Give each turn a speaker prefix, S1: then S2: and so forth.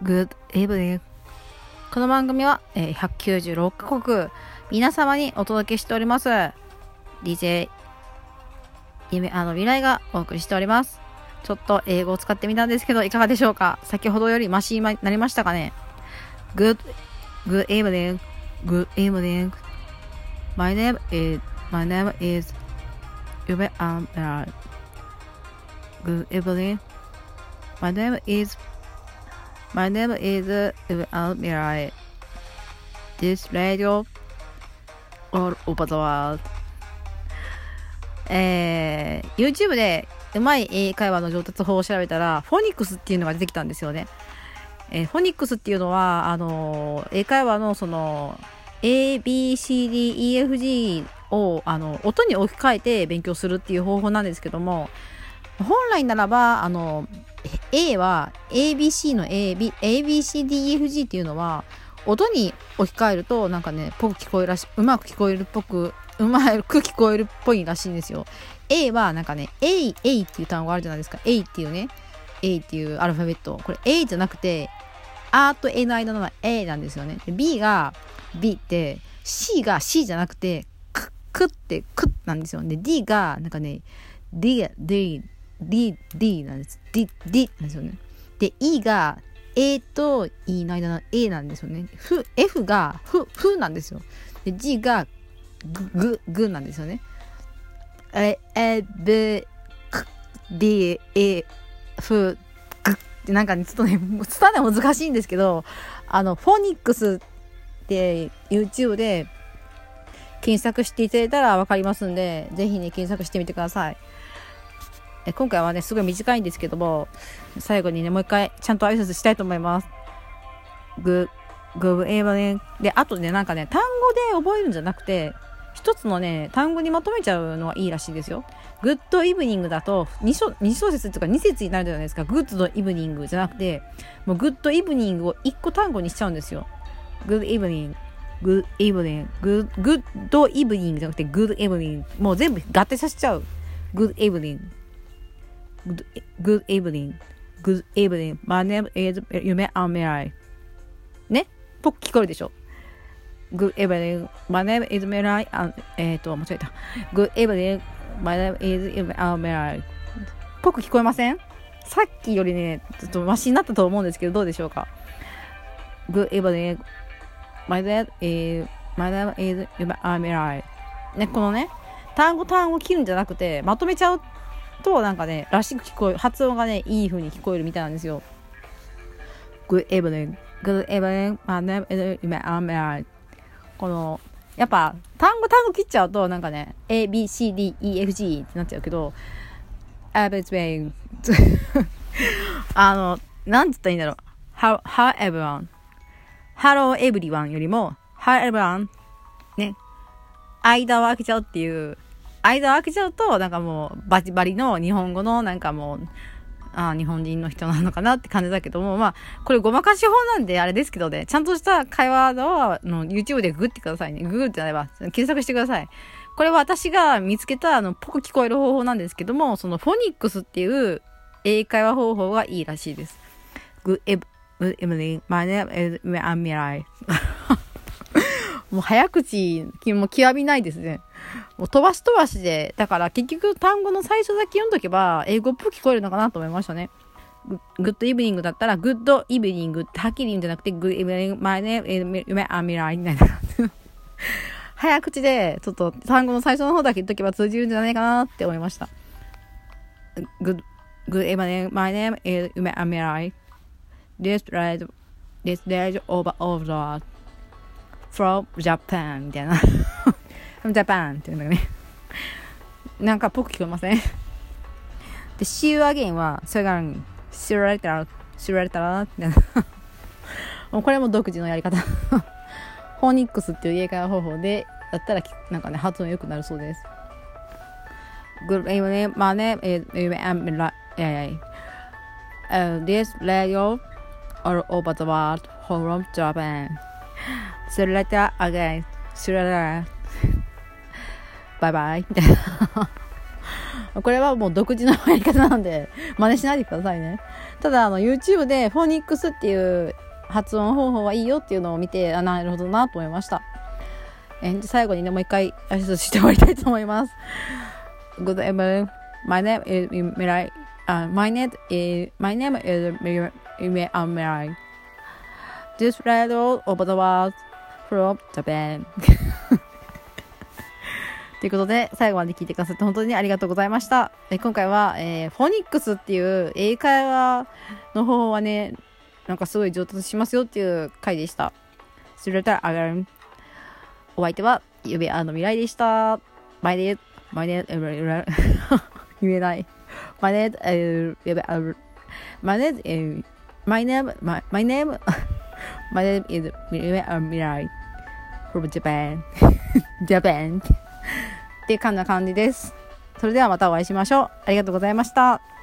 S1: Good evening。この番組は、196カ国皆様にお届けしております DJ 夢未来がお送りしております。ちょっと英語を使ってみたんですけどいかがでしょうか。先ほどよりマシになりましたかね。 Good evening Good evening My name is 夢未来 Good evening My name is Mirai. This radio all over the world. YouTube でうまい英会話の上達法を調べたらフォニックスっていうのが出てきたんですよね。フォニックスっていうのは英会話のその ABCDEFG を音に置き換えて勉強するっていう方法なんですけども、本来ならばA は ABC の ABCDEFG っていうのは音に置き換えるとなんかねぽく聞こえるらしいうまく聞こえるっぽいらしいんですよ。 A はなんかね A っていう単語あるじゃないですか。 A っていうね A っていうアルファベット、これ A じゃなくて A と A の間の A なんですよね。で B が B って C が C じゃなくてクってクなんですよ。で D がなんかね D なんです。D なんですよね。で E が A と E の間の A なんですよね。F がフなんですよ。で G がグなんですよね。B D A F グってなんかねちょっとね伝えるの難しいんですけど、フォニックスって YouTube で検索していただいたらわかりますんで、ぜひね検索してみてください。今回はねすごい短いんですけども、最後にねもう一回ちゃんと挨拶したいと思います。Good evening で、あとねなんかね単語で覚えるんじゃなくて一つのね単語にまとめちゃうのはいいらしいですよ。Good evening だと2小節とか2節になるじゃないですか。Good evening じゃなくてもう Good evening を1個単語にしちゃうんですよ。Good evening Good evening Good evening じゃなくて Good evening もう全部合体させちゃう。Good evening Good evening My name is 夢未来ね、ぽく聞こえるでしょ。 Good evening My name is 未来間違えた。 Good evening My name is 夢未来ぽく聞こえません？さっきよりねちょっとマシになったと思うんですけどどうでしょうか。 Good evening My name is 夢未来ね、このね単語切るんじゃなくてまとめちゃうとなんかねらしく聞こえる、発音がねいい風に聞こえるみたいなんですよ。 Good evening My name is 夢未来。このやっぱ単語切っちゃうとなんかね ABCDEFG ってなっちゃうけどなんて言ったらいいんだろう。 How everyone Hello everyone よりも How everyone ね、間を空けちゃうっていう、間を空けちゃうとなんかもうバチバリの日本語のなんかもう日本人の人なのかなって感じだけども、まあこれごまかし法なんであれですけどね、ちゃんとした会話の YouTube でググってくださいね。ググってなれば検索してください。これは私が見つけたぽく聞こえる方法なんですけども、そのフォニックスっていう英会話方法がいいらしいです。Good evening My name is 未来もう早口も極みないですね。もう飛ばしで、だから結局単語の最初だけ読んどけば英語っぽく聞こえるのかなと思いましたね。グッドイブニングだったらグッドイブニングってはっきり言うんじゃなくてグッドイブニングマイネーム夢未来みたいな早口でちょっと単語の最初の方だけ言っとけば通じるんじゃないかなって思いました。Good evening My name is 夢未来 This radio over the world from Japan みたいなfrom Japan っていうんだよね。なんかぽく聞こえません？で See you again はそれが知られたらみたいなもうこれも独自のやり方フォニックスっていう英会話方法でやったらなんかね発音良くなるそうです。 Good evening My name is 夢未来This radio all over the world from Japan See you later again See you later Bye bye みたいなこれはもう独自のやり方なんで真似しないでくださいね。ただYouTube でフォニックスっていう発音方法はいいよっていうのを見て、なるほどなと思いました。最後にね、もう一回挨拶して終わりたいと思います。Good evening. My name is Mirai. My name is Mirai. This radio over the world from Japan. ということで、最後まで聞いてくださって本当にありがとうございました。今回は、フォニックスっていう英会話の方法はね、なんかすごい上達しますよっていう回でした。それでは、お相手は、ゆべ未来でした。My name 言えない。My name is Mirai from Japan. Japan. っていう感じです。それではまたお会いしましょう。ありがとうございました。